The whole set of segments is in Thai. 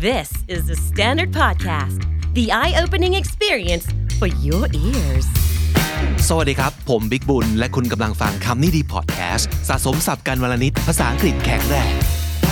This is the Standard Podcast, the eye-opening experience for your ears. สวัสดีครับผมบิ๊กบุญและคุณกำลังฟังคำนี้ดีพอดแคสต์สะสมศัพท์กันวลนิดภาษาอังกฤษแข็งแรง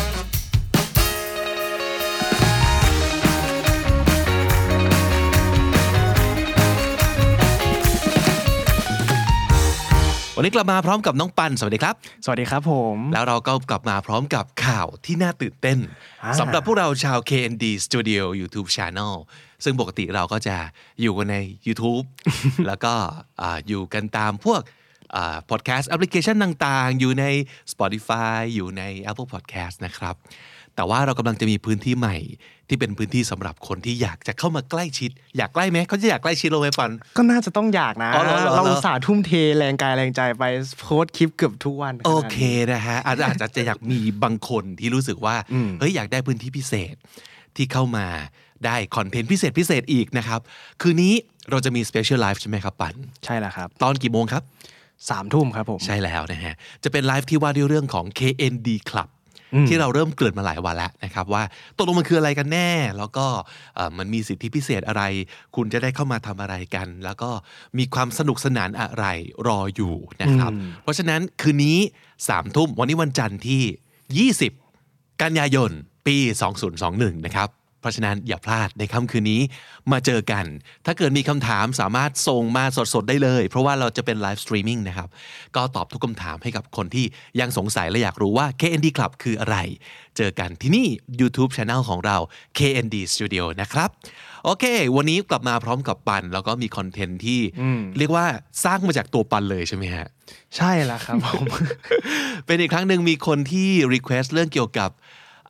วันนี้กลับมาพร้อมกับน้องปันสวัสดีครับสวัสดีครับผมแล้วเราก็กลับมาพร้อมกับข่าวที่น่าตื่นเต้นสำหรับพวกเราชาว KND Studio YouTube Channel ซึ่งปกติเราก็จะอยู่กันใน YouTube แล้วก็อยู่กันตามพวกpodcast application ต่างๆอยู่ใน Spotify อยู่ใน Apple Podcast นะครับแต่ว่าเรากำลังจะมีพื้นที่ใหม่ที่เป็นพื้นที่สำหรับคนที่อยากจะเข้ามาใกล้ชิดอยากใกล้ไหมเขาจะอยากใกล้ชิดเราไหมปันก็น่าจะต้องอยากนะเราอุตส่าห์ทุ่มเทแรงกายแรงใจไปโพสต์คลิปเกือบทุกวันโอเคนะฮะอาจจะอยากมีบางคนที่รู้สึกว่าเฮ้ยอยากได้พื้นที่พิเศษที่เข้ามาได้คอนเทนต์พิเศษอีกนะครับคืนนี้เราจะมี Special Live ใช่ไหมครับปันใช่แล้วครับตอนกี่โมงครับ 3:00 นครับผมใช่แล้วนะฮะจะเป็นไลฟ์ที่ว่าด้วยเรื่องของ KND Clubที่เราเริ่มเกริ่นมาหลายวันแล้วนะครับว่าตกลงมันคืออะไรกันแน่แล้วก็มันมีสิทธิพิเศษอะไรคุณจะได้เข้ามาทำอะไรกันแล้วก็มีความสนุกสนานอะไรรออยู่นะครับเพราะฉะนั้นคืนนี้ 3:00 นวันนี้วันจันทร์ที่20กันยายนปี2021นะครับเพราะฉะนั้นอย่าพลาดในค่ำคืนนี้มาเจอกันถ้าเกิดมีคำถามสามารถส่งมาสดๆได้เลยเพราะว่าเราจะเป็นไลฟ์สตรีมมิ่งนะครับก็ตอบทุกคำถามให้กับคนที่ยังสงสัยและอยากรู้ว่า KND Club คืออะไรเจอกันที่นี่ YouTube Channel ของเรา KND Studio นะครับโอเควันนี้กลับมาพร้อมกับปันแล้วก็มีคอนเทนต์ที่เรียกว่าสร้างมาจากตัวปันเลยใช่ไหมฮะใช่แล้วครับผมเป็นอีกครั้งหนึ่งมีคนที่ request เรื่องเกี่ยวกับ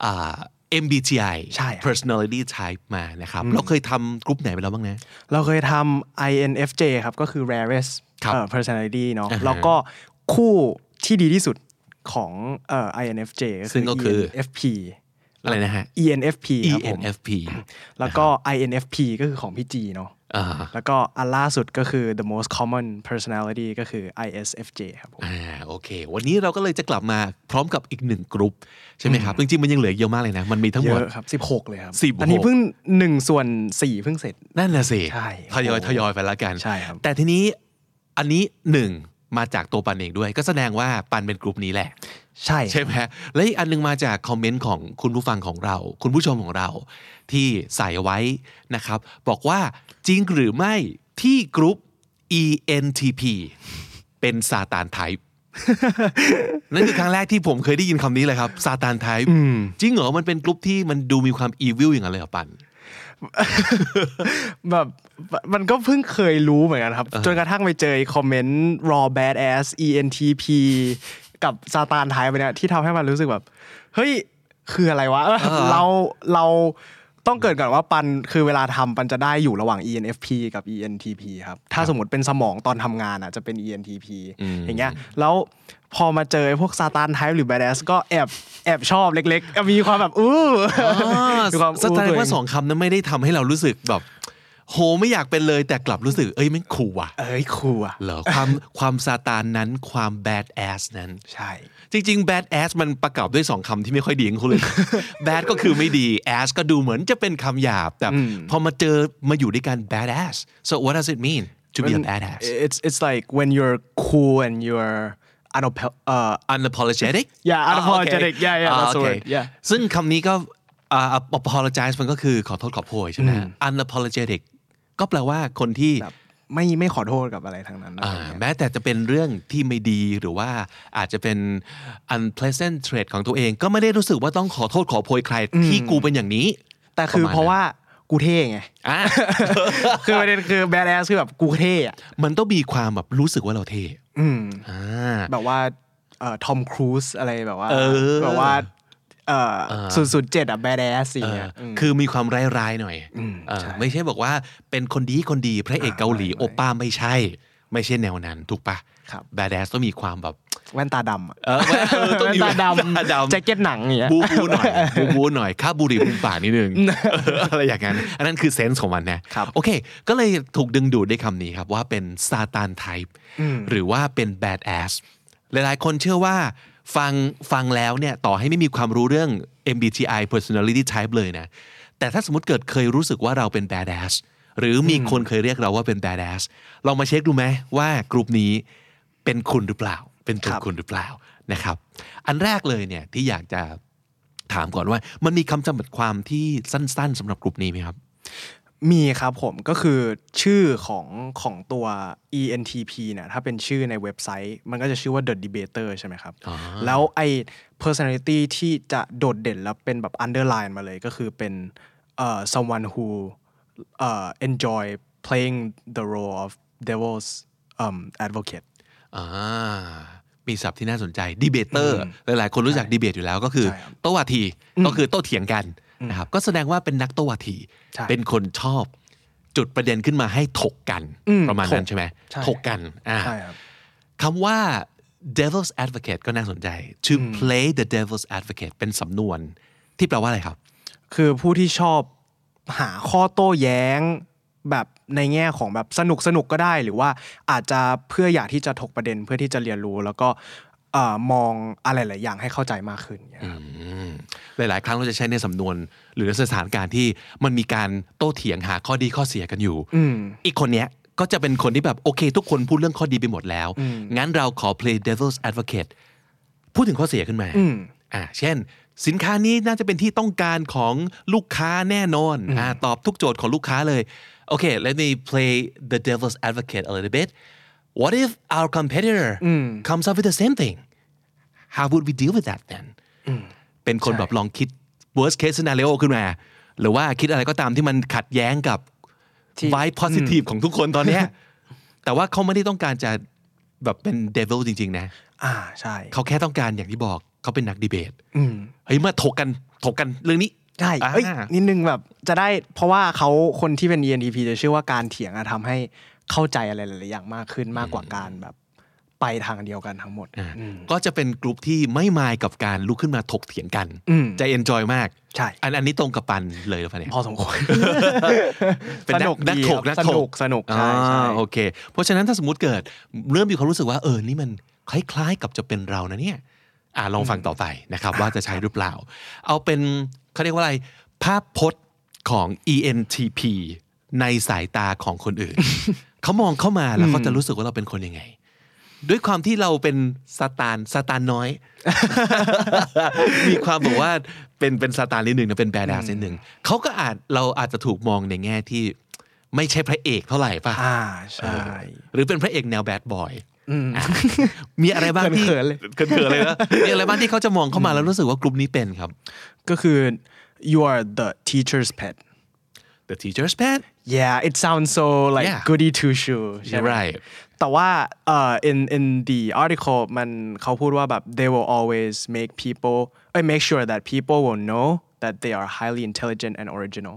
MBTI personality type มานะครับเราเคยทำกลุ่มไหนไปแล้วบ้างนะเราเคยทำ INFJ ครับก็คือ rarest personality เนาะแล้วก็คู่ที่ดีที่สุดของINFJ ซึ่งก็คือ ENFP อะไรนะฮะ ENFP ครับผม ENFP แล้วก็ INFP ก็คือของพี่จีเนาะแล้วก็อันล่าสุดก็คือ the most common personality ก็คือ ISFJ ครับผมโอเควันนี้เราก็เลยจะกลับมาพร้อมกับอีก1กลุ่มใช่ไหมครับจริงๆมันยังเหลือเยอะมากเลยนะมันมีทั้งหมดเยอะครับ16เลยครับอันนี้เพิ่ง1/4เพิ่งเสร็จนั่นน่ะสิใช่ทยอยไปแล้วกันใช่ครับแต่ทีนี้อันนี้1มาจากตัวปันเองด้วยก็แสดงว่าปันเป็นกลุ่มนี้แหละใช่ไหมและอีกอันนึงมาจากคอมเมนต์ของคุณผู้ฟังของเราคุณผู้ชมของเราที่ใส่ไว้นะครับบอกว่าจริงหรือไม่ที่กลุ่ม ENTP เป็นซาตานไทป์นั่นคือครั้งแรกที่ผมเคยได้ยินคำนี้เลยครับซาตานไทป์จริงเหรอมันเป็นกลุ่มที่มันดูมีความอีวิลอย่างนั้นเลยเหรอปันแบบมันก็เพิ่งเคยรู้เหมือนกันครับจนกระทั่งไปเจอคอมเมนต์ raw badass ENTP กับซาตานไทป์ไปเนี่ยที่ทำให้มันรู้สึกแบบเฮ้ยคืออะไรวะเราต้องเกิดก่อนว่าปันคือเวลาทำปันจะได้อยู่ระหว่าง ENFP กับ ENTP ครับถ้าสมมติเป็นสมองตอนทำงานอ่ะจะเป็น ENTP อย่างเงี้ยแล้วพอมาเจอพวกซาตานไทป์หรือ badass ก็แอบชอบเล็กๆมีความแบบมีความแสดงว่า2คำนั้นไม่ได้ทำให้เรารู้สึกแบบโหไม่อยากเป็นเลยแต่กลับรู้สึกมันคูลว่ะคูลอ่ะเหรอความซาตานนั้นความ badass นั้นใช่จริงๆ badass มันประกอบด้วย2คำที่ไม่ค่อยดีของคุณเลย bad ก็คือไม่ดี ass ก็ดูเหมือนจะเป็นคำหยาบแต่พอมาอยู่ด้วยกัน badass so what does it mean to be a badass it's like when you're cool and you're unapologetic unapologetic that's the word ซึ่งคำนี้ก็apologize มันก็คือขอโทษขอโพยใช่ไหม unapologetic ก็แปลว่าคนที่ไม่ขอโทษกับอะไรทั้งนั้นแม้แต่จะเป็นเรื่องที่ไม่ดีหรือว่าอาจจะเป็น unpleasant trait ของตัวเองก็ไม่ได้รู้สึกว่าต้องขอโทษขอโพยใครที่กูเป็นอย่างนี้แต่คือเพราะว่ากูเท่ไงคือประเด็นคือ badass คือแบบกูเท่มันต้องมีความแบบรู้สึกว่าเราเท่แบบว่าทอมครูซอะไรแบบว่า007 badass สิเนี่ยคือมีความร้ายๆหน่อยไม่ใช่บอกว่าเป็นคนดีพระเอกเกาหลีโอป้าไม่ใช่แนวนั้นถูกปะ badass ต้องมีความแบบแว่นตาดำต้องมีแว่นตาดำแจ็คเก็ตหนังอย่างเงี้ยบูหน่อยค่าบุหรี่มุมปากนิดนึงอะไรอย่างนั้นอันนั้นคือเซนส์ของมันนะโอเคก็เลยถูกดึงดูดด้วยคำนี้ครับว่าเป็นซาตานไทป์หรือว่าเป็น badass หลายๆคนเชื่อว่าฟังแล้วเนี่ยต่อให้ไม่มีความรู้เรื่อง MBTI personality type เลยนะแต่ถ้าสมมติเกิดเคยรู้สึกว่าเราเป็น badass หรือมีคนเคยเรียกเราว่าเป็น badass ลองมาเช็คดูไหมว่ากลุ่มนี้เป็นคุณหรือเปล่าเป็นตัวคุณหรือเปล่านะครับอันแรกเลยเนี่ยที่อยากจะถามก่อนว่ามันมีคำจำกัดความที่สั้นๆสำหรับกลุ่มนี้ไหมครับมีครับผมก็คือชื่อของตัว ENTP เนี่ยถ้าเป็นชื่อในเว็บไซต์มันก็จะชื่อว่า The Debater ใช่ไหมครับแล้วไอ้ personality ที่จะโดดเด่นแล้วเป็นแบบ underline มาเลยก็คือเป็นsomeone who enjoy playing the role of devil's advocate มีศัพท์ที่น่าสนใจดีเบเตอร์หลายๆคนรู้จักดีเบตอยู่แล้วก็คือโต้วาทีก็คือโต้เถียงกันนะครับก็แสดงว่าเป็นนักโต้วาทีเป็นคนชอบจุดประเด็นขึ้นมาให้ถกกันประมาณนั้นใช่ไหมถกกันคำว่า devil's advocate ก็น่าสนใจ to play the devil's advocate เป็นสำนวนที่แปลว่าอะไรครับคือผู้ที่ชอบหาข้อโต้แย้งแบบในแง่ของแบบสนุกก็ได้หรือว่าอาจจะเพื่ออยากที่จะถกประเด็นเพื่อที่จะเรียนรู้แล้วก็มองอะไรหลายอย่างให้เข้าใจมากขึ้นหลายๆครั้งเราจะใช้ในสำนวนหรือสถานการณ์ที่มันมีการโต้เถียงหาข้อดีข้อเสียกันอยู่อีกคนเนี้ยก็จะเป็นคนที่แบบโอเคทุกคนพูดเรื่องข้อดีไปหมดแล้วงั้นเราขอ play devil's advocate พูดถึงข้อเสียขึ้นมาเช่นสินค้านี้น่าจะเป็นที่ต้องการของลูกค้าแน่นอนตอบทุกโจทย์ของลูกค้าเลยโอเค let me play the devil's advocate a little bit what if our competitor comes up with the same thing how would we deal with that then เป็นคนแบบลองคิด worst case scenario ขึ้นมาหรือว่าคิดอะไรก็ตามที่มันขัดแย้งกับ vibe positive ของทุกคนตอนนี้แต่ว่าเขาไม่ได้ต้องการจะแบบเป็น devil จริงๆนะใช่เขาแค่ต้องการอย่างที่บอกเขาเป็นนักดีเบตเฮ้ยมาถกกันเรื่องนี้ใช่นิดนึงแบบจะได้เพราะว่าเขาคนที่เป็น ENTP จะเชื่อว่าการเถียงทำให้เข้าใจอะไรหลายๆอย่างมากขึ้นมากกว่าการแบบไปทางเดียวกันทั้งหมดก็จะเป็นกลุ่มที่ไม่มายกับการลุกขึ้นมาถกเถียงกันจะเอนจอยมากใช่อันนี้ตรงกับปันเลยหรือเปล่าเนี่ยพอสมควรเป็นนักถกสนุกใช่โอเคเพราะฉะนั้นถ้าสมมติเกิดเริ่มมีความรู้สึกว่านี่มันคล้ายๆกับจะเป็นเรานะเนี่ยลองฟังต่อไปนะครับว่าจะใช้หรือเปล่าเอาเป็นเขาเรียกว่าอะไรภาพพจน์ของ ENTP ในสายตาของคนอื่น เขามองเข้ามาแล้วเขาจะรู้สึกว่าเราเป็นคนยังไงด้วยความที่เราเป็นซาตานน้อย มีความบอกว่าเป็นซาตานนิดนึงนะเป็นแบดแอสนิดนึงเขาก็เราอาจจะถูกมองในแง่ที่ไม่ใช่พระเอกเท่าไหร่ป่ะใช่หรือเป็นพระเอกแนวแบดบอยมีอะไรบ้างที่เขินเลยนะมีอะไรบ้างที่เขาจะมองเข้ามาแล้วรู้สึกว่ากลุ่มนี้เป็นครับก็คือ you are the teacher's pet the teacher's pet yeah it sounds so like goody two shoes right แต่ว่าin the article มันเขาพูดว่าแบบ they will always make sure that people will know that they are highly intelligent and original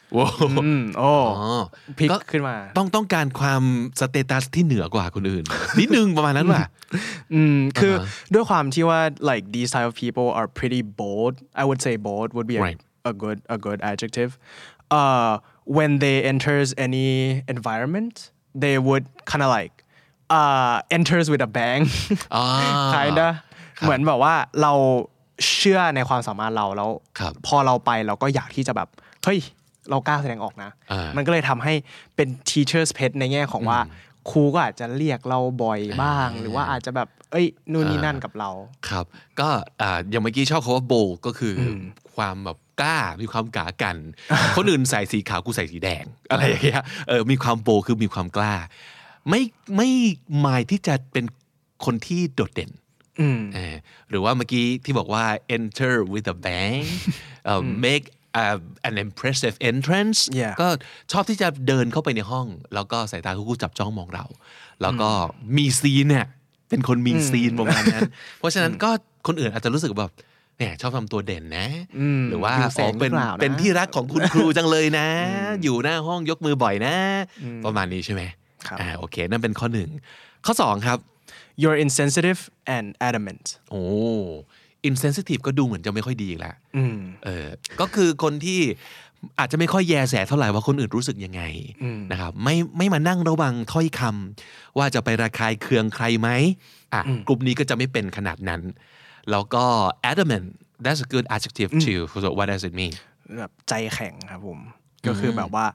พลิกขึ้นมาต้องการความสเตตัสที่เหนือกว่าคนอื่นนิดนึงประมาณนั้นว่ะคือด้วยความที่ว่า like these type of people are pretty bold I would say bold would be a good adjective when they enters any environment they would kind of like enters with a bang kinda เหมือนแบบว่าเราเชื่อในความสามารถเราแล้วพอเราไปเราก็อยากที่จะแบบเฮ้ยเรากล้าแสดงออกนะมันก็เลยทำให้เป็น teacher's pet ในแง่ของว่าครูก็อาจจะเรียกเราบ่อยบ้างหรือว่าอาจจะแบบนู่นนี่นั่นกับเราครับก็อย่างเมื่อกี้ชอบคำว่า bold ก็คือความแบบกล้ามีความกล้ากันคนอื่นใส่สีขาวกูใส่สีแดงอะไรอย่างเงี้ยมีความ bold คือมีความกล้าไม่หมายที่จะเป็นคนที่โดดเด่นหรือว่าเมื่อกี้ที่บอกว่า enter with a bang make an impressive entrance ก็ชอบที่จะเดินเข้าไปในห้องแล้วก็สายตาคู่จับจ้องมองเราแล้วก็มีซีนเนี่ยเป็นคนมีซีนประมาณนั้นเพราะฉะนั้นก็คนอื่นอาจจะรู้สึกแบบเนี่ยชอบทำตัวเด่นนะหรือว่าเป็นที่รักของคุณครูจังเลยนะอยู่หน้าห้องยกมือบ่อยนะประมาณนี้ใช่ไหมโอเคนั่นเป็นข้อหนึ่งข้อสองครับ you're insensitive and adamant insensitive ก็ดูเหมือนจะไม่ค่อยดีอีกแล้วก็คือคนที่อาจจะไม่ค่อยแยแสเท่าไหร่ว่าคนอื่นรู้สึกยังไงนะครับไม่มานั่งระวังถ้อยคำว่าจะไประคายเคืองใครไหมกลุ่มนี้ก็จะไม่เป็นขนาดนั้นแล้วก็ adamant that's a good adjective too so what does it mean แบบใจแข็งครับผมก็คือแบบว่า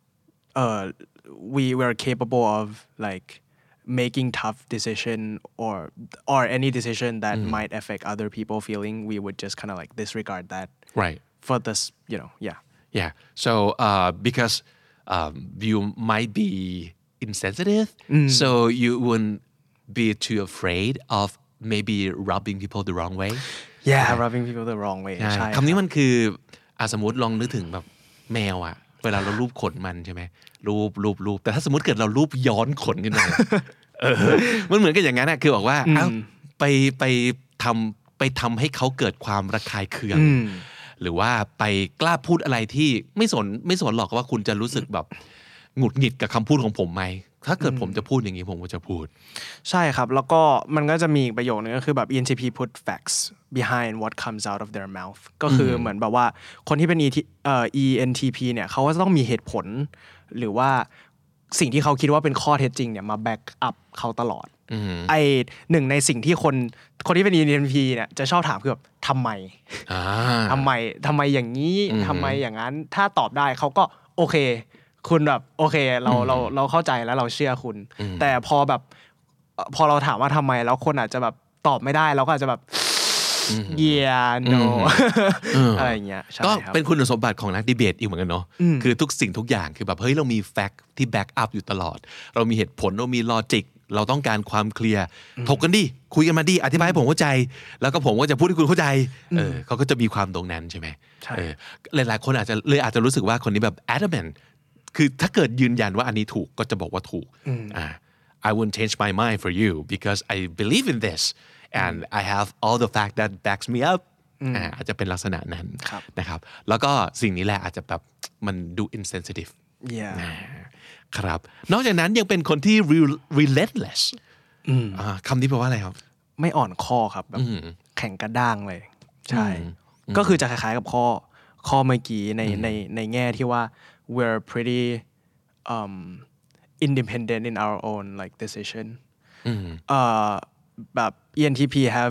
we were capable of like making tough decision or any decision that might affect other people feeling we would just kind of like disregard that right for this yeah so because you might be insensitive so you wouldn't be too afraid of maybe rubbing people the wrong way rubbing people the wrong way ใช่คำนี้มันคือสมมติลองนึกถึงแบบแมวอะเวลาเราลูบขนมันใช่ไหมลูบแต่ถ้าสมมติเกิดเราลูบย้อนขนขึ้นมามันเหมือนกันอย่างนั้นนะคือบอกว่าไปทำให้เขาเกิดความระคายเคืองหรือว่าไปกล้าพูดอะไรที่ไม่สนหรอกว่าคุณจะรู้สึกแบบหงุดหงิดกับคำพูดของผมไหมถ้าเกิดผมจะพูดอย่างนี้ผมก็จะพูดใช่ครับแล้วก็มันก็จะมีอีกประโยคนึงก็คือแบบ ENTP put facts behind what comes out of their mouth ก็คือเหมือนแบบว่าคนที่เป็นENTP เนี่ยเขาก็จะต้องมีเหตุผลหรือว่าสิ่งที่เขาคิดว่าเป็นข้อเท็จจริงเนี่ยมาแบ็กอัพเขาตลอดไอหนึ่งในสิ่งที่คนที่เป็น ENTP เนี่ยจะชอบถามคือแบบทำไมอย่างนี้ทำไมอย่างนั้นถ้าตอบได้เขาก็โอเคคุณแบบโอเคเราเข้าใจแล้วเราเชื่อคุณแต่พอเราถามว่าทำไมแล้วคนอาจจะแบบตอบไม่ได้เราก็อาจจะแบบ yeah no อะไรอย่างเงี้ยก็เป็นคุณสมบัติของนักดีเบตอีกเหมือนกันเนาะคือทุกสิ่งทุกอย่างคือแบบเฮ้ยเรามีแฟกต์ที่แบ็กอัพอยู่ตลอดเรามีเหตุผลเรามีลอจิกเราต้องการความเคลียร์ถกกันดิคุยกันมาดิอธิบายให้ผมเข้าใจแล้วก็ผมก็จะพูดให้คุณเข้าใจเขาก็จะมีความตรงนั้นใช่ไหมหลายๆคนอาจจะรู้สึกว่าคนนี้แบบ adamantคือถ้าเกิดยืนยันว่าอันนี้ถูกก็จะบอกว่าถูกI wouldn't change my mind for you because I believe in this and I have all the fact that backs me up อาจจะเป็นลักษณะนั้นนะครับแล้วก็สิ่งนี้แหละอาจจะแบบมันดู insensitive ครับนอกจากนั้นยังเป็นคนที่ relentless คำนี้แปลว่าอะไรครับไม่อ่อนข้อครับแบบแข็งกระด้างเลยใช่ก็คือจะคล้ายๆกับข้อเมื่อกี้ในแง่ที่ว่าwe're pretty independent in our own like decision แบบ ENTP have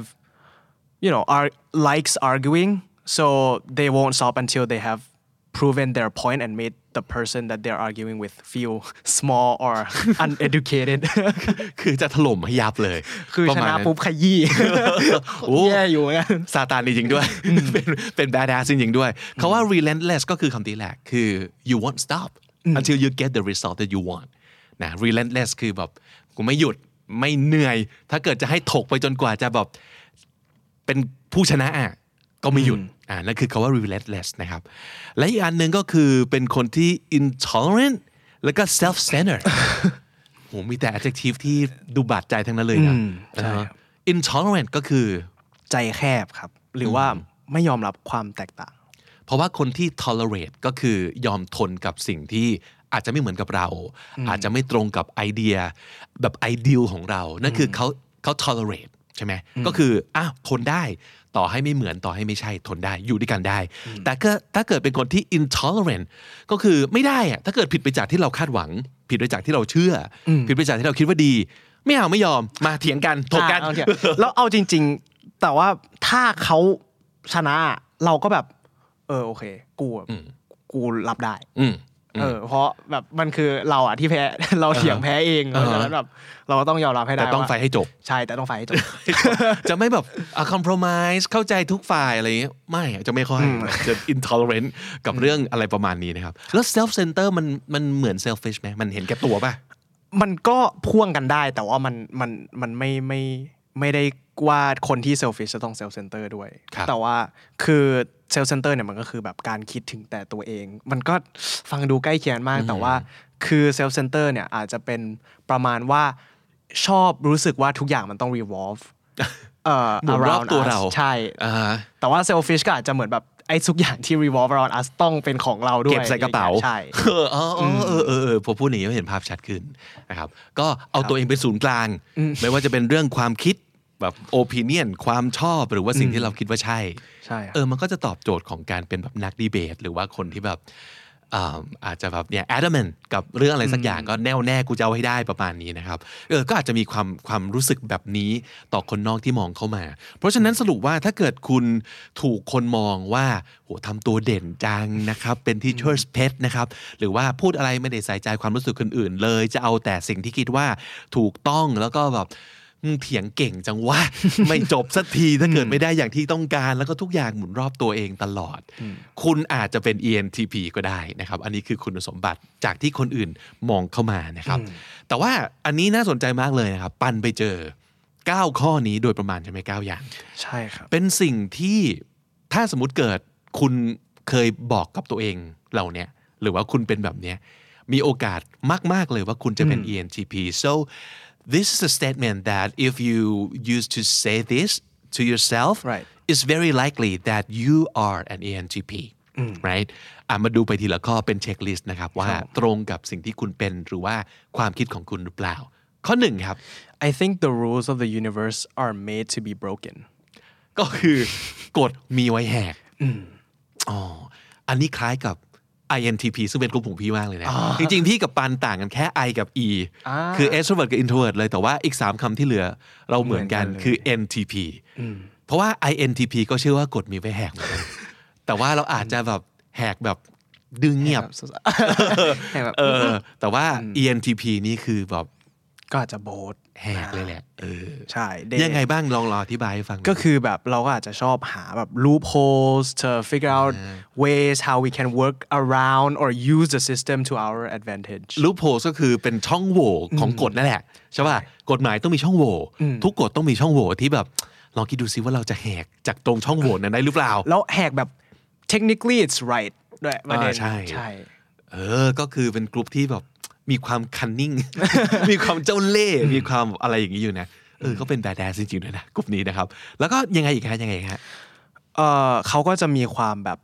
likes arguing so they won't stop until they have proven their point and made the person that they're arguing with feel small or uneducated คือจะถล่มให้ยับเลยคือชนะปุ๊บขยี้แย่อยู่งั้นซาตานจริงๆด้วยเป็น badass จริงๆด้วยเขาว่า relentless ก็คือคำนี้แหละคือ you won't stop until you get the result that you want นะ relentless คือแบบกูไม่หยุดไม่เหนื่อยถ้าเกิดจะให้ถกไปจนกว่าจะแบบเป็นผู้ชนะก็ไม่หยุดนั่นคือคำว่า relentless นะครับและอีกอันหนึ่งก็คือเป็นคนที่ intolerant แล้วก็ self-centered โหมีแต่ adjective ที่ดูบาดใจทั้งนั้นเลยนะ intolerant ก็คือใจแคบครับหรือว่าไม่ยอมรับความแตกต่างเพราะว่าคนที่ tolerate ก็คือยอมทนกับสิ่งที่อาจจะไม่เหมือนกับเราอาจจะไม่ตรงกับไอเดียแบบ ideal ของเรานั่นคือเขา tolerate ใช่ไหมก็คือทนได้ต่อให้ไม่เหมือนต่อให้ไม่ใช่ทนได้อยู่ด้วยกันได้แต่ก็ถ้าเกิดเป็นคนที่ intolerant ก็คือไม่ได้ถ้าเกิดผิดไปจากที่เราคาดหวังผิดไปจากที่เราเชื่อผิดไปจากที่เราคิดว่าดีไม่ยอมมาเถียงกันถกกันแล้วเอาจริงๆแต่ว่าถ้าเขาชนะเราก็แบบโอเคกูรับได้เพราะแบบมันคือเราที่แพ้เราเถียงแพ้เองเพราะฉะนั้นแบบเราก็ต้องยอมรับให้ได้แต่ต้องไฟให้จบใช่แต่ต้องไฟให้จบจะไม่แบบcompromise เข้าใจทุกฝ่ายอะไรอย่างเงี้ยไม่จะไม่ค่อยจะ intolerant กับเรื่องอะไรประมาณนี้นะครับแล้ว self center มันเหมือน selfish ไหมมันเห็นแก่ตัวป่ะมันก็พ่วงกันได้แต่ว่ามันไม่ได้ว่าคนที่ selfish จะต้อง self center ด้วยแต่ว่าคือ self center เนี่ยมันก็คือแบบการคิดถึงแต่ตัวเองมันก็ฟังดูใกล้เคียงมากแต่ว่าคือ self center เนี่ยอาจจะเป็นประมาณว่าชอบรู้สึกว่าทุกอย่างมันต้อง revolve around ตัวเราใช่แต่ว่า selfish ก็อาจจะเหมือนแบบไอ้ทุกอย่างที่ revolve around us ต้องเป็นของเราด้วยเก็บใส่กระเป๋าใช่พอพูดอย่างนี้เห็นภาพชัดขึ้นนะครับก็เอาตัวเองเป็นศูนย์กลางไม่ว่าจะเป็นเรื่องความคิดแบบ opinion ความชอบหรือว่าสิ่งที่เราคิดว่าใช่มันก็จะตอบโจทย์ของการเป็นแบบนักดีเบตหรือว่าคนที่แบบอาจจะแบบเนี่ย adamant กับเรื่องอะไรสักอย่างก็แน่วแน่กูจะเอาให้ได้ประมาณนี้นะครับก็อาจจะมีความรู้สึกแบบนี้ต่อคนนอกที่มองเข้ามาเพราะฉะนั้นสรุปว่าถ้าเกิดคุณถูกคนมองว่าโหทำตัวเด่นจังนะครับเป็น teacher's pet นะครับหรือว่าพูดอะไรไม่ได้ใส่ใจความรู้สึกคนอื่นเลยจะเอาแต่สิ่งที่คิดว่าถูกต้องแล้วก็แบบเถียงเก่งจังวะ ไม่จบสักทีถ้าเกิดไม่ได้อย่างที่ต้องการแล้วก็ทุกอย่างหมุนรอบตัวเองตลอดคุณอาจจะเป็น ENTP ก็ได้นะครับอันนี้คือคุณสมบัติจากที่คนอื่นมองเข้ามานะครับแต่ว่าอันนี้น่าสนใจมากเลยนะครับปันไปเจอ9ข้อนี้โดยประมาณใช่ไหม9อย่างใช่ครับเป็นสิ่งที่ถ้าสมมุติเกิดคุณเคยบอกกับตัวเองเหล่านี้หรือว่าคุณเป็นแบบนี้มีโอกาสมากๆเลยว่าคุณจะเป็น ENTP so this is a statement that if you used to say this to yourself it's very likely that you are an ENTP right มาดูไปทีละข้อเป็นเช็คลิสต์นะครับว่าตรงกับสิ่งที่คุณเป็นหรือว่าความคิดของคุณหรือเปล่าข้อ1ครับ I think the rules of the universe are made to be broken ก็คือกฎมีไว้แหกอันนี้คล้ายกับ INTP ซึ่งเป็นกลุ่มของพี่มากเลยนะจริงๆพี่กับปันต่างกันแค่ I กับ E คือ extrovert กับ introvert เลยแต่ว่าอีก3คำที่เหลือเราเหมือนกันคือ NTP เพราะว่า INTP ก็เชื่อว่ากฎมีไว้แหกเหมือนกันแต่ว่าเราอาจจะแบบแหกแบบดึงเงียบแต่ว่า ENTP นี่คือแบบก็อาจจะโบสแหกเลยแหละใช่ยังไงบ้างลองอธิบายให้ฟังก็คือแบบเราก็อาจจะชอบหาแบบ loopholes to figure out ways how we can work around or use the system to our advantage loopholes ก็คือเป็นช่องโหว่ของกฎนั่นแหละใช่ป่ะกฎหมายต้องมีช่องโหว่ทุกกฎต้องมีช่องโหว่ที่แบบลองคิดดูซิว่าเราจะแหกจากตรงช่องโหว่นั้นได้หรือเปล่าแล้วแหกแบบ technically it's right ด้วยประเด็นใช่ก็คือเป็นกลุ่มที่แบบมีความ cunning มีความเจ้าเล่ห์มีความอะไรอย่างนี้อยู่นะก็เป็น badass จริงๆด้วยนะกลุ่มนี้นะครับแล้วก็ยังไงอีกฮะเขาก็จะมีความแบบ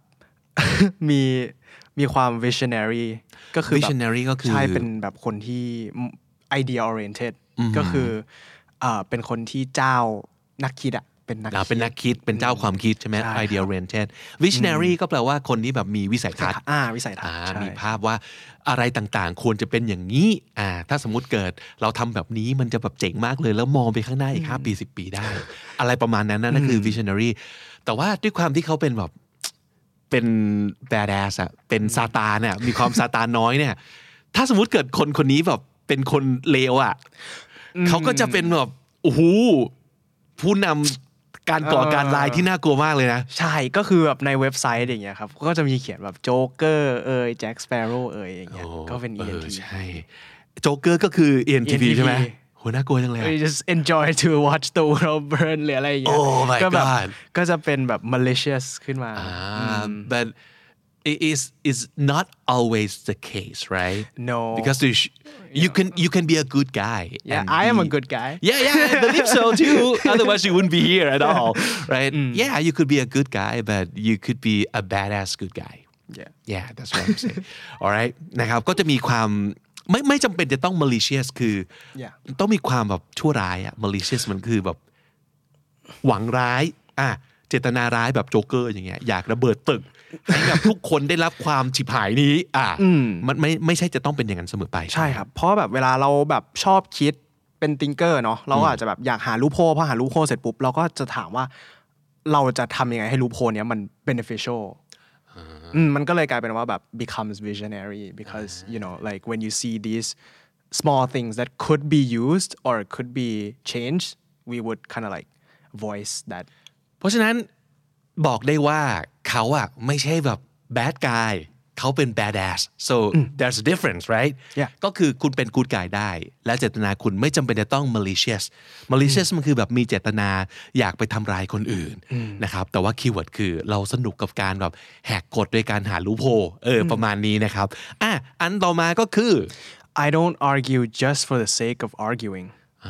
มีความ visionary ก็คือ visionary ก็คือใช่เป็นแบบคนที่ idea oriented ก็คือเป็นคนที่เจ้านักคิดอะเป็นนักคิดเป็นเจ้าความคิดใช่ไหม idea oriented visionary ก็แปลว่าคนที่แบบมีวิสัยทัศน์มีภาพว่าอะไรต่างๆควรจะเป็นอย่างนี้ถ้าสมมุติเกิดเราทำแบบนี้มันจะแบบเจ๋งมากเลยแล้วมองไปข้างหน้าอีก5 ปี10 ปีได้อะไรประมาณนั้นนั่นคือ visionary แต่ว่าด้วยความที่เขาเป็นแบบเป็น badass อะเป็นซาตานเนี่ยมีความซาตานน้อยเนี่ยถ้าสมมุติเกิดคนนี้แบบเป็นคนเลวอะเขาก็จะเป็นแบบโอ้โหผู้นำการก่อการร้ายที่น่ากลัวมากเลยนะใช่ก็คือแบบในเว็บไซต์อย่างเงี้ยครับก็จะมีเขียนแบบโจ๊กเกอร์แจ็คสเปโร่อย่างเงี้ยก็เป็น ENTP ใช่โจ๊กเกอร์ก็คือ ENTP ใช่ไหมโหน่ากลัวจังเลย We just enjoy to watch the world burn หรืออะไรอย่างเงี้ยก็แบบก็จะเป็นแบบ malicious ขึ้นมา but it is not always the case right no because you can be a good guy I am a good guy I believe so too otherwise you wouldn't be here at all right yeah you could be a good guy but you could be a badass good guy yeah that's what I'm saying alright นะครับก็จะมีความไม่จำเป็นจะต้อง malicious คือต้องมีความแบบชั่วร้ายmalicious มันคือแบบหวังร้ายเจตนาร้ายแบบโจ๊กเกอร์อย่างเงี้ยอยากระเบิดตึกให้แบบทุกคนได้รับความฉิบหายนี้มันไม่ใช่จะต้องเป็นอย่างนั้นเสมอไปใช่ครับเพราะแบบเวลาเราแบบชอบคิดเป็นทิงเกอร์เนาะเราก็อาจจะแบบอยากหาลูปโฮลพอหาลูปโฮลเสร็จปุ๊บเราก็จะถามว่าเราจะทำยังไงให้ลูปโฮลเนี้ยมัน beneficial มันก็เลยกลายเป็นว่าแบบ becomes visionary because you know like when you see these small things that could be used or could be changed we would kind of like voice that เพราะฉะนั้นบอกได้ว่าเขาไม่ใช่แบบ bad guy เขาเป็น badass so there's a difference right ก็คือคุณเป็น good guy ได้และเจตนาคุณไม่จำเป็นจะต้อง malicious มันคือแบบมีเจตนาอยากไปทำร้ายคนอื่นนะครับแต่ว่าคีย์เวิร์ดคือเราสนุกกับการแบบแหกกฎโดยการหาลูปโฮลประมาณนี้นะครับอันต่อมาก็คือ I don't argue just for the sake of arguing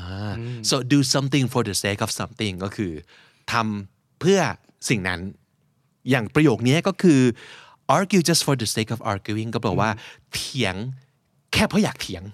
so do something for the sake of something ก็คือทำเพื่อสิ่งนั้นอย่างประโยคนี้ก็คือ argue just for the sake of arguing ก็แปลว่าเถียงแค่เพราะอยากเถียง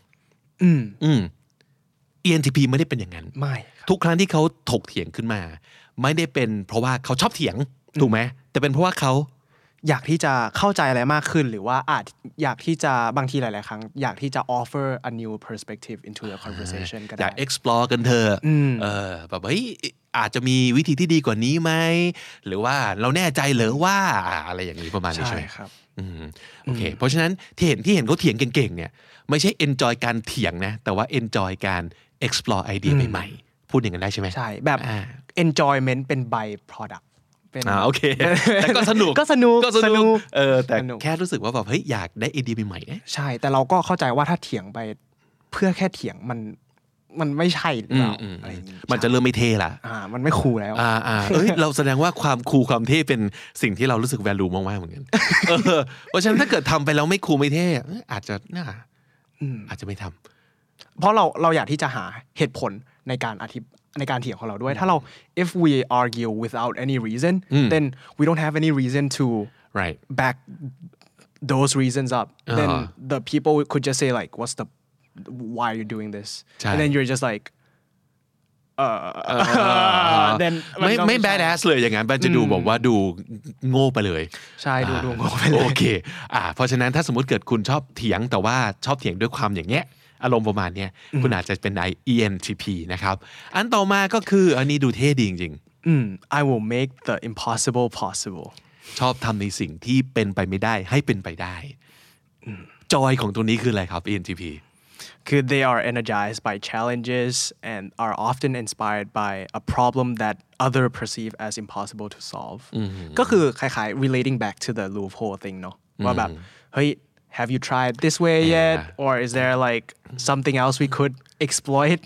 ENTP ไม่ได้เป็นอย่างนั้นไม่ทุกครั้งที่เขาถกเถียงขึ้นมาไม่ได้เป็นเพราะว่าเขาชอบเถียงถูกไหมแต่เป็นเพราะว่าเขาอยากที่จะเข้าใจอะไรมากขึ้นหรือว่าอาจอยากที่จะบางทีหลายๆครั้งอยากที่จะ offer a new perspective into the conversation ก็ได้อยาก explore กันเถอะแบบเฮ้ยอาจจะมีวิธีที่ดีกว่านี้ไหมหรือว่าเราแน่ใจเหรอว่าอะไรอย่างนี้ประมาณนี้ใช่ไหมครับโอเคเพราะฉะนั้นที่เห็นเขาเถียงเก่งๆเนี่ยไม่ใช่ enjoy การเถียงนะแต่ว่า enjoy การ explore ไอเดียใหม่ๆพูดอย่างนั้นได้ใช่ไหมใช่แบบ enjoyment เป็น by product โอเคแต่ก็สนุกแต่แค่รู้สึกว่าแบบเฮ้ยอยากได้ไอเดียใหม่ๆใช่แต่เราก็เข้าใจว่าถ้าเถียงไปเพื่อแค่เถียงมันไม่ใช่หรือเปล่าอะไรอย่างนี้มันจะเริ่มไม่เท่ละมันไม่คูลแล้วเราแสดงว่าความคูลความเท่เป็นสิ่งที่เรารู้สึก value มากๆเหมือนกันเพราะฉะนั้นถ้าเกิดทำไปแล้วไม่คูลไม่เท่อาจจะไม่ทำเพราะเราอยากที่จะหาเหตุผลในการเถียงของเราด้วยถ้าเรา if we argue without any reason then we don't have any reason to back those reasons up then the people could just say like why are you doing this and then you're just like then ไม่ badass เลยอย่างนั้นมันจะดูบอกว่าดูโง่ไปเลยใช่ดูโง่ไปเลยโอเคเพราะฉะนั้นถ้าสมมติเกิดคุณชอบเถียงแต่ว่าชอบเถียงด้วยความอย่างเงี้ยอารมณ์ประมาณนี้คุณอาจจะเป็น ENTP นะครับอันต่อมาก็คืออันนี้ดูเท่ดีจริงๆ I will make the impossible possible ชอบทำในสิ่งที่เป็นไปไม่ได้ให้เป็นไปได้จอยของตัวนี้คืออะไรครับ ENTP คือ they are energized by challenges and are often inspired by a problem that other perceive as impossible to solve ก็คือคล้ายๆ relating back to the loophole thing เนาะว่าแบบเฮ้ยhave you tried this way yet or is there like something else we could exploit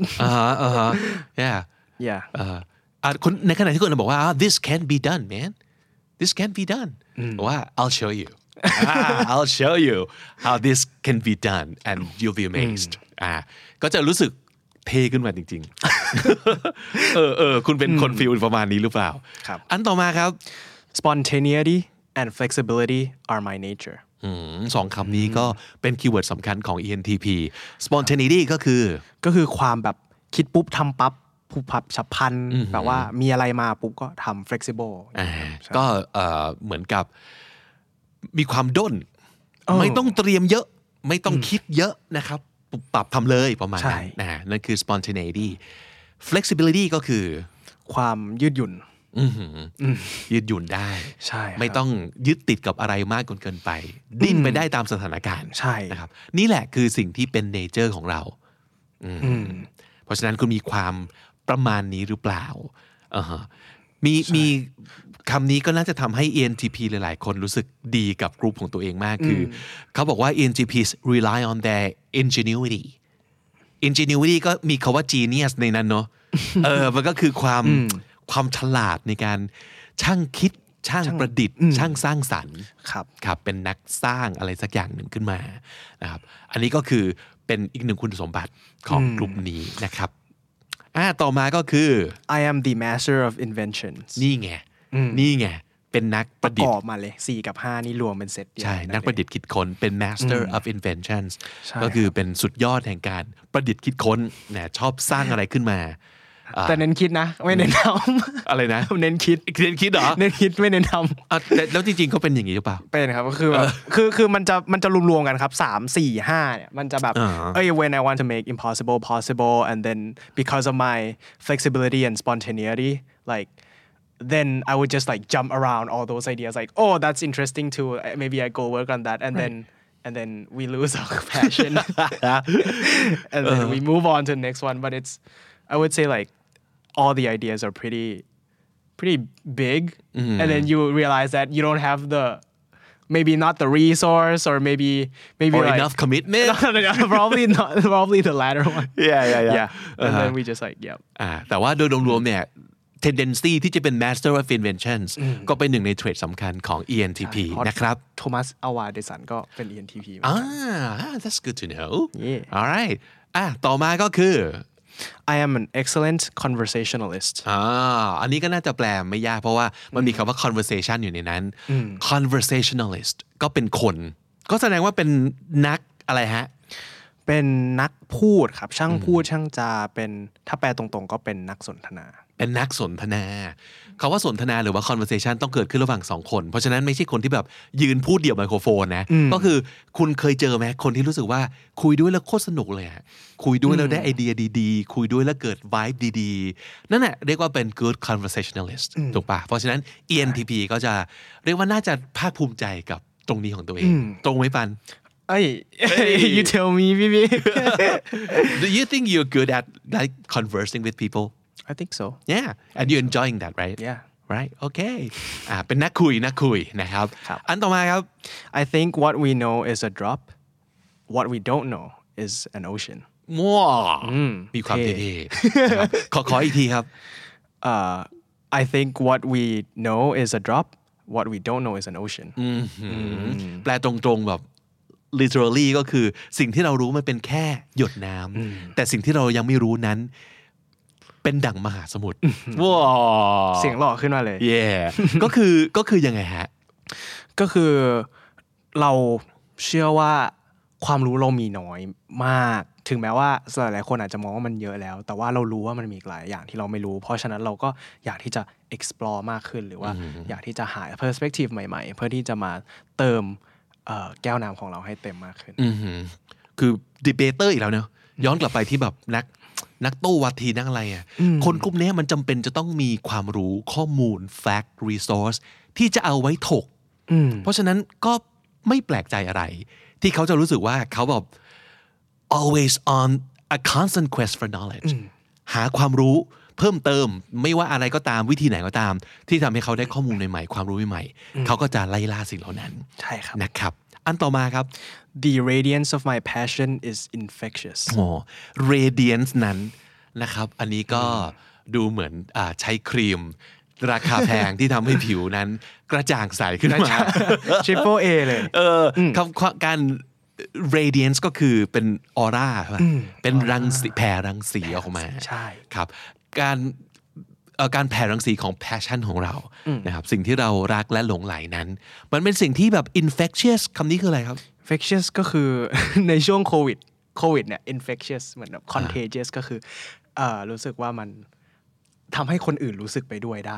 yeah คนในขณะที่คนบอกว่า this can't be done man this can't be done บอกว่า I'll show you I'll show you how this can be done and you'll be amazed ก็จะรู้สึกเท่ขึ้นมาจริงๆคุณเป็นคนฟีลประมาณนี้หรือเปล่าอันต่อมาครับ spontaneity and flexibility are my nature สองคำนี้ก็เป็นคีย์เวิร์ดสำคัญของ ENTP spontaneity ก็คือความแบบคิดปุ๊บทำปั๊บผูกพับฉับพลันแบบว่ามีอะไรมาปุ๊บก็ทำ flexible ก็เหมือนกับมีความด้นไม่ต้องเตรียมเยอะไม่ต้องคิดเยอะนะครับปรับทำเลยประมาณนั้นนั่นคือ spontaneity flexibility ก็คือความยืดหยุ่นยืดหยุ่นได้ไม่ต้องยึดติดกับอะไรมากจนเกินไปดิ้นไปได้ตามสถานการณ์นะครับนี่แหละคือสิ่งที่เป็นเนเจอร์ของเราเพราะฉะนั้นคุณมีความประมาณนี้หรือเปล่ามีคำนี้ก็น่าจะทำให้ ENTP หลายๆคนรู้สึกดีกับกลุ่มของตัวเองมากคือเขาบอกว่า ENTPs rely on their ingenuity ก็มีคำว่า genius ในนั้นเนาะมันก็คือความฉลาดในการช่างคิดช่างประดิษฐ์ช่างสร้างสรรค์ครับเป็นนักสร้างอะไรสักอย่างหนึ่งขึ้นมานะครับอันนี้ก็คือเป็นอีกหนึ่งคุณสมบัติของกลุ่มนี้นะครับต่อมาก็คือ I am the master of inventions นี่ไงเป็นนักประดิษฐ์ประกอบมาเลย4กับ5นี่รวมเป็นเซตใช่นักประดิษฐ์คิดค้นเป็น master of inventions ก็คือเป็นสุดยอดแห่งการประดิษฐ์คิดค้นนะชอบสร้างอะไรขึ้นมาแต่เน้นคิดนะไม่เน้นทำอะไรนะเน้นคิดเหรอเน้นคิดไม่เน้นทำแล้วจริงๆเขาเป็นอย่างนี้หรือเปล่าเป็นครับก็คือแบบคือมันจะรวมๆกันครับ3 4 5เนี่ยมันจะแบบwhen I want to make impossible possible and then because of my flexibility and spontaneity like then I would just like jump around all those ideas like oh that's interesting too maybe I go work on that and then we lose our passion and then we move on to the next one but it's I would say like all the ideas are pretty big and then you realize that you don't have the maybe not the resource or maybe or like, enough commitment probably the latter one yeah and then we just like yeah แต่ว่าโดยรวมๆเนี่ย tendency ที่จะเป็น master of inventions ก็เป็นหนึ่งในเทรดสำคัญของ ENTP นะครับโทมัสอวาเดสันก็เป็น ENTP that's good to know alright ต่อมาก็คือ I am an excellent conversationalist อันนี้ก็น่าจะแปลไม่ยากเพราะว่ามันมีคำว่า conversation อยู่ในนั้น conversationalist ก็เป็นคนก็แสดงว่าเป็นนักอะไรฮะเป็นนักพูดครับช่างพูดช่างจาเป็นถ้าแปลตรงๆก็เป็นนักสนทนาเป็นนักสนทนาคำว่าสนทนาหรือว่า conversation ต้องเกิดขึ้นระหว่าง2คนเพราะฉะนั้นไม่ใช่คนที่แบบยืนพูดเดี่ยวไมโครโฟนนะก็คือคุณเคยเจอไหมคนที่รู้สึกว่าคุยด้วยแล้วโคตรสนุกเลยอะคุยด้วยแล้วได้ไอเดียดีๆคุยด้วยแล้วเกิด vibe ดีๆนั่นแหละเรียกว่าเป็น good conversationalist ถูกปะเพราะฉะนั้น ENTP ก็จะเรียกว่าน่าจะภาคภูมิใจกับตรงนี้ของตัวเองตรงไหมปัน you tell me พี่ Do you think you're good at like conversing with people I think so Yeah and you're enjoying that right Yeah right okay เป็นนักคุยนะครับอันต่อมาครับ I think what we know is a drop what we don't know is an ocean ว้าวมีความเท่ๆขออีกทีครับ I think what we know is a drop what we don't know is an ocean แปลตรงๆแบบ literally ก็คือสิ่งที่เรารู้มันเป็นแค่หยดน้ำแต่สิ่งที่เรายังไม่รู้นั้นเป็นดั่งมหาสมุทรว้าวเสียงหล่อขึ้นมาเลย yeah ก็คือยังไงฮะก็คือเราเชื่อว่าความรู้เรามีน้อยมากถึงแม้ว่าหลายๆคนอาจจะมองว่ามันเยอะแล้วแต่ว่าเรารู้ว่ามันมีหลายอย่างที่เราไม่รู้เพราะฉะนั้นเราก็อยากที่จะ explore มากขึ้นหรือว่าอยากที่จะหา perspective ใหม่ๆเพื่อที่จะมาเติมแก้วน้ำของเราให้เต็มมากขึ้นคือ debater อีกแล้วเนอะย้อนกลับไปที่แบบนักโต้วาทีนักอะไรอ่ะคนกลุ่มนี้มันจำเป็นจะต้องมีความรู้ข้อมูล fact resource ที่จะเอาไว้ถกเพราะฉะนั้นก็ไม่แปลกใจอะไรที่เขาจะรู้สึกว่าเขาแบบ always on a constant quest for knowledge หาความรู้เพิ่มเติมไม่ว่าอะไรก็ตามวิธีไหนก็ตามที่ทำให้เขาได้ข้อมูลใหม่ๆความรู้ใหม่ๆเขาก็จะไล่ล่าสิ่งเหล่านั้นใช่ครับนะครับอันต่อมาครับ The radiance of my passion is infectious radiance นั้นนะครับอันนี้ก็ดูเหมือนใช้ครีมราคาแพงที่ทำให้ผิวนั้นกระจ่างใสขึ้นมา Triple A เลยการ radiance ก็คือเป็นออร่าเป็นรังสีแผ่รังสีออกมาใช่ครับการแผ่รังสีของ passion ของเรานะครับสิ่งที่เรารักและหลงใหลนั้นมันเป็นสิ่งที่แบบ infectious คำนี้คืออะไรครับ infectious ก็คือ ในช่วงโควิดเนี่ย infectious เหมือนแบบ contagious ก็คือรู้สึกว่ามันทำให้คนอื่นรู้สึกไปด้วยได้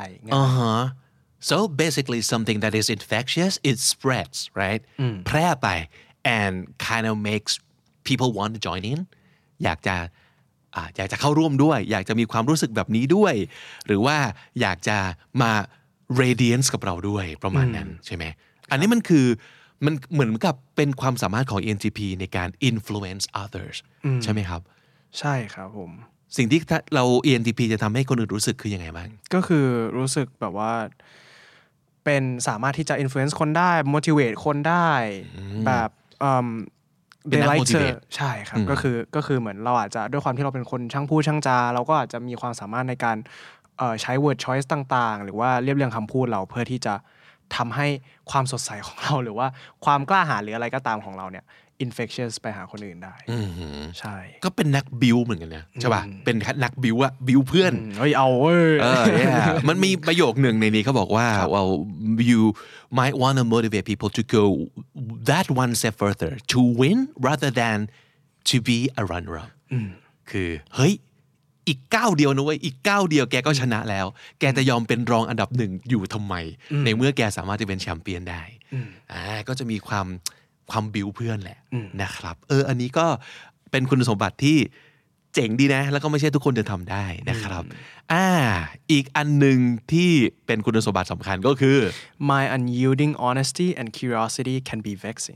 So basically something that is infectious it spreads right แพร่ไป and kind of makes people want to join in อยากจะเข้าร่วมด้วยอยากจะมีความรู้สึกแบบนี้ด้วยหรือว่าอยากจะมา radiance กับเราด้วยประมาณนั้นใช่ไหมอันนี้มันเหมือนกับเป็นความสามารถของ ENTP ในการ influence others ใช่ไหมครับใช่ครับผมสิ่งที่เรา ENTP จะทำให้คนอื่นรู้สึกคือยังไงบ้างก็คือรู้สึกแบบว่าเป็นสามารถที่จะ influence คนได้ motivate คนได้แบบเป็นนัก motivate ใช่ครับก็คือเหมือนเราอาจจะด้วยความที่เราเป็นคนช่างพูดช่างจาเราก็อาจจะมีความสามารถในการใช้ word choice ต่างๆหรือว่าเรียบเรียงคำพูดเราเพื่อที่จะทำให้ความสดใสของเราหรือว่าความกล้าหาญหรืออะไรก็ตามของเราเนี่ย infectious ไปหาคนอื่นได้ใช่ก็เป็นนักบิวเหมือนกันนะใช่ป่ะเป็นนักบิวอะบิวเพื่อนเอาเว้ยมันมีประโยคหนึ่งในนี้เขาบอกว่า well you might want to motivate people to go that one step further to win rather than to be a runner up คือเฮ้ยอีกก้าวเดียวนะเว้ยอีกก้าวเดียวแกก็ชนะแล้วแกจะยอมเป็นรองอันดับหนึ่งอยู่ทำไมในเมื่อแกสามารถจะเป็นแชมเปี้ยนได้ก็จะมีความบิวเพื่อนแหละนะครับอันนี้ก็เป็นคุณสมบัติที่เจ๋งดีนะแล้วก็ไม่ใช่ทุกคนจะทำได้นะครับอีกอันหนึ่งที่เป็นคุณสมบัติสำคัญก็คือ My unyielding honesty and curiosity can be vexing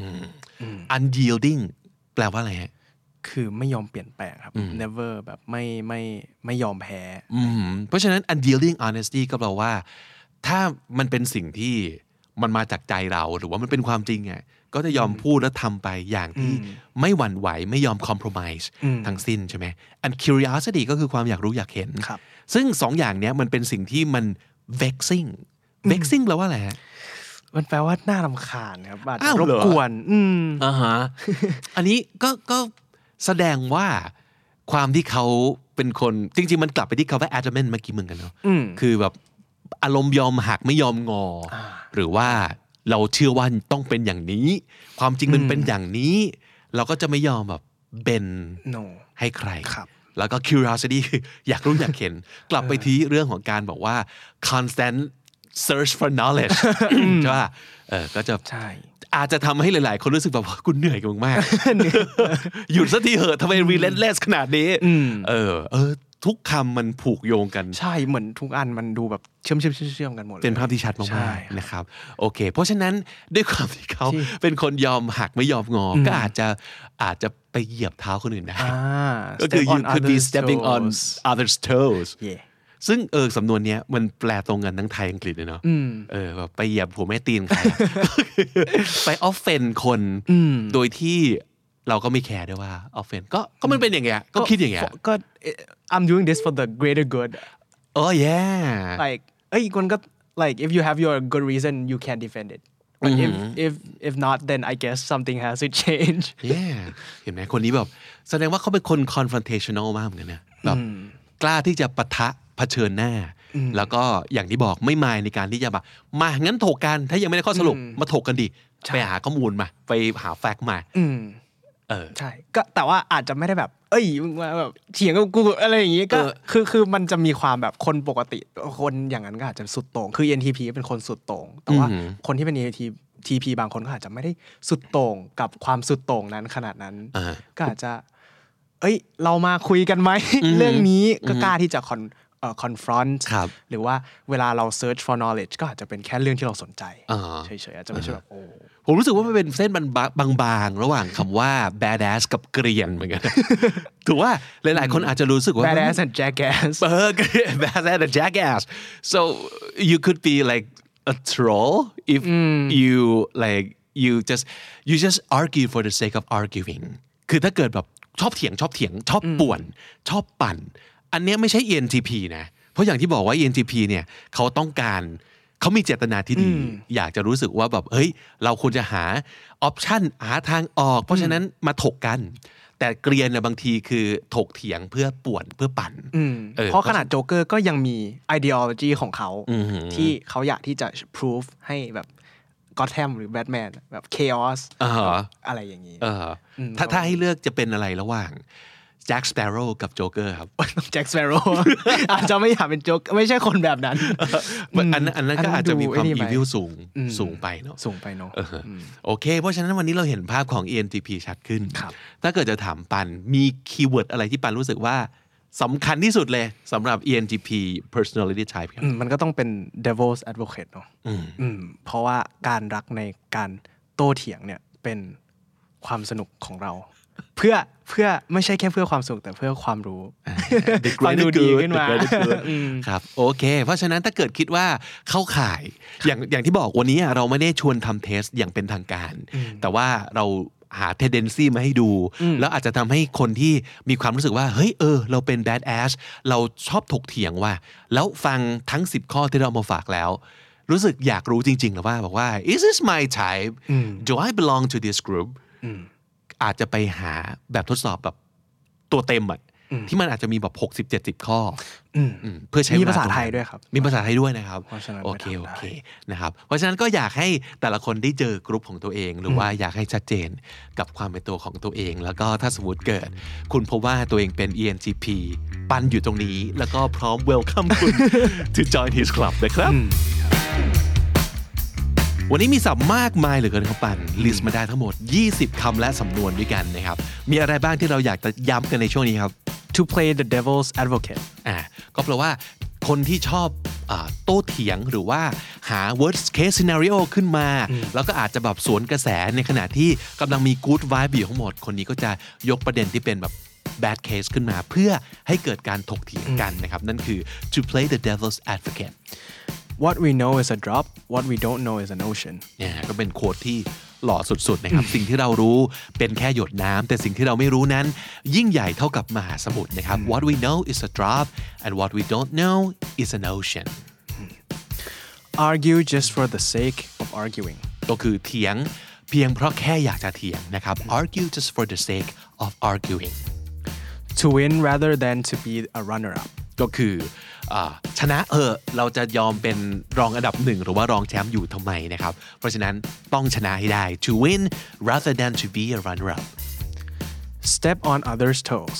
unyielding แปลว่าอะไรฮะคือไม่ยอมเปลี่ยนแปลงครับ never แบบไม่ยอมแพ้เพราะฉะนั้น unyielding honesty ก็แปลว่าถ้ามันเป็นสิ่งที่มันมาจากใจเราหรือว่ามันเป็นความจริงอ่ะก็จะยอมพูดและทำไปอย่างที่ไม่หวั่นไหวไม่ยอม compromise ทั้งสิ้นใช่ไหม and curiosity ก็คือความอยากรู้อยากเห็นซึ่งสองอย่างเนี้ยมันเป็นสิ่งที่มัน vexing แปลว่าอะไรฮะมันแปลว่าน่ารำคาญครับอาจจะรบกวนอันนี้ก็แสดงว่าความที่เขาเป็นคนจริงๆมันกลับไปที่คำว่า adamant เมื่อกี้เหมือนกันเนาะคือแบบอารมณ์ยอมหักไม่ยอมงอหรือว่าเราเชื่อว่าต้องเป็นอย่างนี้ความจริงมันเป็นอย่างนี้เราก็จะไม่ยอมแบบเบนให้ใครแล้วก็ curiosity คืออยากรู้อยากเห็นกลับไปที่เรื่องของการบอกว่า constant search for knowledge ใช่ป่ะก็จะอาจจะทำให้หลายๆคนรู้สึกแบบว่ากูเหนื่อยกับมึงมากหยุดสักทีเหอะทำไม relentless ขนาดนี้ทุกคำมันผูกโยงกันใช่เหมือนทุกอันมันดูแบบเชื่อมกันหมดเลยเป็นภาพที่ชัดมากๆนะครับโอเคเพราะฉะนั้นด้วยความที่เขาเป็นคนยอมหักไม่ยอมงอก็อาจจะไปเหยียบเท้าคนอื่นได้ก็คือ you could be stepping on others toes ซึ่งสำนวนเนี้ยมันแปลตรงกันทั้งไทยอังกฤษเลยเนาะแบบไปเหยียบหัวแม่ตีนใครไป offend คนโดยที่เราก็ไม่แคร์ด้วยว่า offend ก็มันเป็นอย่างเงี้ยก็คิดอย่างเงี้ยก็ I'm doing this for the greater good oh yeah like คนก็ like if you have your good reason you can defend it but if not then I guess something has to change yeah เห็นไหมคนนี้แบบแสดงว่าเขาเป็นคน confrontational มากเหมือนกันนะแบบกล้าที่จะปะทะเผชิญหน้าแล้วก็อย่างที่บอกไม่มายในการที่จะแบบมางั้นถกกันถ้ายังไม่ได้ข้อสรุปมาถกกันดิไปหาข้อมูลมาไปหาแฟกต์มาใช่ก็แต่ว่าอาจจะไม่ได้แบบมึงมาแบบเถียงกับกูอะไรอย่างงี้ก็คือมันจะมีความแบบคนปกติคนอย่างนั้นก็อาจจะสุดโต่งคือ ENTP เป็นคนสุดโต่งแต่ว่าคนที่เป็น ENTP บางคนก็อาจจะไม่ได้สุดโต่งกับความสุดโต่งนั้นขนาดนั้นก็อาจจะเรามาคุยกันไหมเรื่องนี้ก็กล้าที่จะconfront หรือว่าเวลาเรา search for knowledge ก็อาจจะเป็นแค่เรื่องที่เราสนใจเฉยๆอาจจะไม่ใช่แบบผมรู้สึกว่ามันเป็นเส้นบางๆระหว่างคำว่า badass กับเกรียนเหมือนกันถูกว่าหลายๆคนอาจจะรู้สึกว่า badass and jackass badass and jackass so you could be like a troll if you like you just argue for the sake of arguing คือถ้าเกิดแบบชอบเถียงชอบป่วนชอบปั่นอันนี้ไม่ใช่ ENTP นะเพราะอย่างที่บอกว่า ENTP เนี่ยเขามีเจตนาที่ดีอยากจะรู้สึกว่าแบบเฮ้ยเราควรจะหาออปชันหาทางออกเพราะฉะนั้นมาถกกันแต่เกรียนเนี่ยบางทีคือถกเถียงเพื่อป่วนเพื่อปั่นเพราะขนาดโจ๊กเกอร์ก็ยังมี ideology ของเขาที่เขาอยากที่จะ prove ให้แบบก็อธแฮมหรือแบทแมนแบบ chaos อะไรอย่างนี้ถ้าให้เลือกจะเป็นอะไรระหว่างแจ็คสเปโร่กับโจ๊กเกอร์ครับแจ็คสเปโร่อาจจะไม่อยากเป็นโจ๊กไม่ใช่คนแบบนั้นอันนั้นก็อาจจะมีความอีวิลสูงไปเนาะโอเคเพราะฉะนั้นวันนี้เราเห็นภาพของ ENTP ชัดขึ้นถ้าเกิดจะถามปันมีคีย์เวิร์ดอะไรที่ปันรู้สึกว่าสำคัญที่สุดเลยสำหรับ ENTP personality type ครับมันก็ต้องเป็น devil's advocate เนาะเพราะว่าการรักในการโต้เถียงเนี่ยเป็นความสนุกของเราเพื่อไม่ใช่แค่เพื่อความสุขแต่เพื่อความรู้ฟังดูดีขึ้นมาครับโอเคเพราะฉะนั้นถ้าเกิดคิดว่าเข้าข่ายอย่างที่บอกวันนี้เราไม่ได้ชวนทำเทสอย่างเป็นทางการแต่ว่าเราหา tendency มาให้ดูแล้วอาจจะทำให้คนที่มีความรู้สึกว่าเฮ้ยเราเป็น bad ass เราชอบถกเถียงว่าแล้วฟังทั้ง10ข้อที่เรามาฝากแล้วรู้สึกอยากรู้จริงๆหรือว่าบอกว่า is this my type do I belong to this groupอาจจะไปหาแบบทดสอบแบบตัวเต็มที่มันอาจจะมีแบบ60-70 ข้อเพื่อใช้มีภาษาไทยด้วยครับมีภาษาไทยด้วยนะครับโอเคนะครับเพราะฉะนั้นก็อยากให้แต่ละคนได้เจอกลุ่มของตัวเองหรือว่าอยากให้ชัดเจนกับความเป็นตัวของตัวเองแล้วก็ถ้าสมมติเกิดคุณพบว่าตัวเองเป็น ENTP ปันอยู่ตรงนี้แล้วก็พร้อม welcome คุณ to join his club นะครับวันนี้มีศัพท์มากมายเหลือเกินครับปันลิสต์มาได้ทั้งหมด20คำและสำนวนด้วยกันนะครับมีอะไรบ้างที่เราอยากจะย้ำกันในช่วงนี้ครับ to play the devil's advocate ก็แปลว่าคนที่ชอบโต้เถียงหรือว่าหา worst case scenario ขึ้นมาแล้วก็อาจจะแบบสวนกระแสในขณะที่กำลังมี good vibe อยู่ทั้งหมดคนนี้ก็จะยกประเด็นที่เป็นแบบ bad case ขึ้นมาเพื่อให้เกิดการถกเถียงกันนะครับนั่นคือ to play the devil's advocate What we know is a drop what we don't know is an ocean เนี่ยก็เป็นโค้ดที่หล่อสุดๆนะครับ สิ่งที่เรารู้เป็นแค่หยดน้ำแต่สิ่งที่เราไม่รู้นั้นยิ่งใหญ่เท่ากับมหาสมุทรนะครับ What we know is a drop and what we don't know is an ocean Argue just for the sake of arguing ก็คือเถียงเพียงเพราะแค่อยากจะเถียงนะครับ Argue just for the sake of arguing To win rather than to be a runner-up ก็คือชนะเราจะยอมเป็นรองอันดับ1หรือว่ารองแชมป์อยู่ทำไมนะครับเพราะฉะนั้นต้องชนะให้ได้ to win rather than to be a runner up step on others toes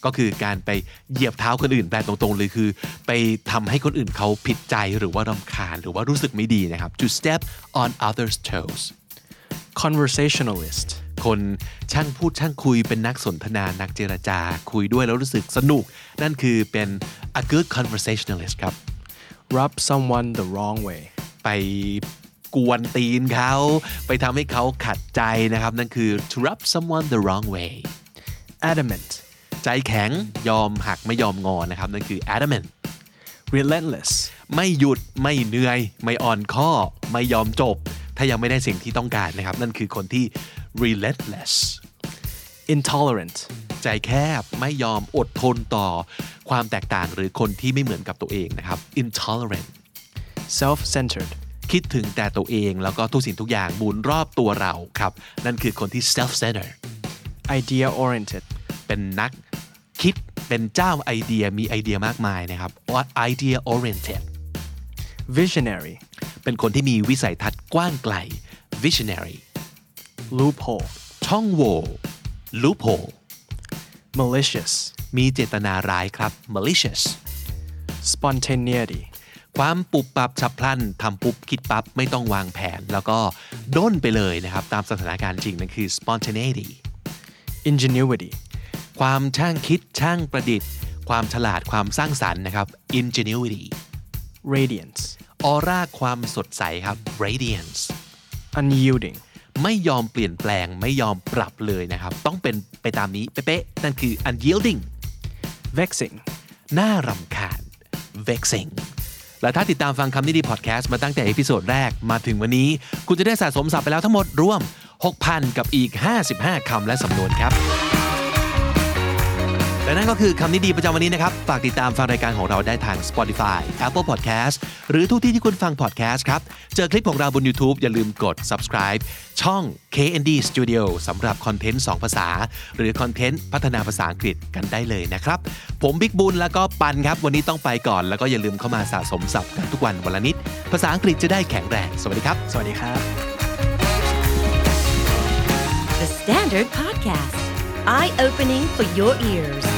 ก็คือการไปเหยียบเท้าคนอื่นแปลตรงๆเลยคือไปทำให้คนอื่นเขาผิดใจหรือว่ารำคาญหรือว่ารู้สึกไม่ดีนะครับ to step on others toes conversationalist คนช่างพูดช่างคุยเป็นนักสนทนานักเจรจาคุยด้วยแล้วรู้สึกสนุกนั่นคือเป็น a good conversationalist ครับ rub someone the wrong way ไปกวนตีนเขาไปทำให้เขาขัดใจนะครับนั่นคือ to rub someone the wrong way adamant ใจแข็งยอมหักไม่ยอมงอนะครับนั่นคือ adamant relentless ไม่หยุดไม่เหนื่อยไม่อ่อนข้อไม่ยอมจบถ้ายังไม่ได้สิ่งที่ต้องการนะครับนั่นคือคนที่ relentless intolerant ใจแคบไม่ยอมอดทนต่อความแตกต่างหรือคนที่ไม่เหมือนกับตัวเองนะครับ intolerant self-centered คิดถึงแต่ตัวเองแล้วก็ทุกสิ่งทุกอย่างหมุนรอบตัวเราครับนั่นคือคนที่ self-centered idea oriented เป็นนักคิดเป็นเจ้าไอเดียมีไอเดียมากมายนะครับ idea oriented visionary เป็นคนที่มีวิสัยทัศน์กว้างไกล visionary loophole ช่องโหว่ loophole malicious มีเจตนาร้ายครับ malicious spontaneity ความปุบปับฉับพลันทำปุ๊บคิดปั๊บไม่ต้องวางแผนแล้วก็ด้นไปเลยนะครับตามสถานการณ์จริงนั่นคือ spontaneity ingenuity ความช่างคิดช่างประดิษฐ์ความฉลาดความสร้างสรรค์นะครับ ingenuity radiance ออร่าความสดใสครับ radiance unyielding ไม่ยอมเปลี่ยนแปลงไม่ยอมปรับเลยนะครับต้องเป็นไปตามนี้เป๊ะๆนั่นคือ unyielding vexing น่ารำคาญ vexing และถ้าติดตามฟังคำนี้ดีพอดแคสต์มาตั้งแต่เอพิโซดแรกมาถึงวันนี้คุณจะได้สะสมศัพท์ไปแล้วทั้งหมดรวม 6,000 กับอีก 55 คำและสำนวนครับและนั่นก็คือคำนี้ดีประจำวันนี้นะครับฝากติดตามฟังรายการของเราได้ทาง Spotify Apple Podcast หรือทุกที่ที่คุณฟัง podcast ครับเจอคลิปของเราบน YouTube อย่าลืมกด subscribe ช่อง KND Studio สำหรับคอนเทนต์2ภาษาหรือคอนเทนต์พัฒนาภาษาอังกฤษกันได้เลยนะครับผมบิ๊กบุญแล้วก็ปันครับวันนี้ต้องไปก่อนแล้วก็อย่าลืมเข้ามาสะสมศัพท์กันทุกวันวันละนิดภาษาอังกฤษจะได้แข็งแรงสวัสดีครับสวัสดีครับ The Standard Podcast Eye Opening for Your Ears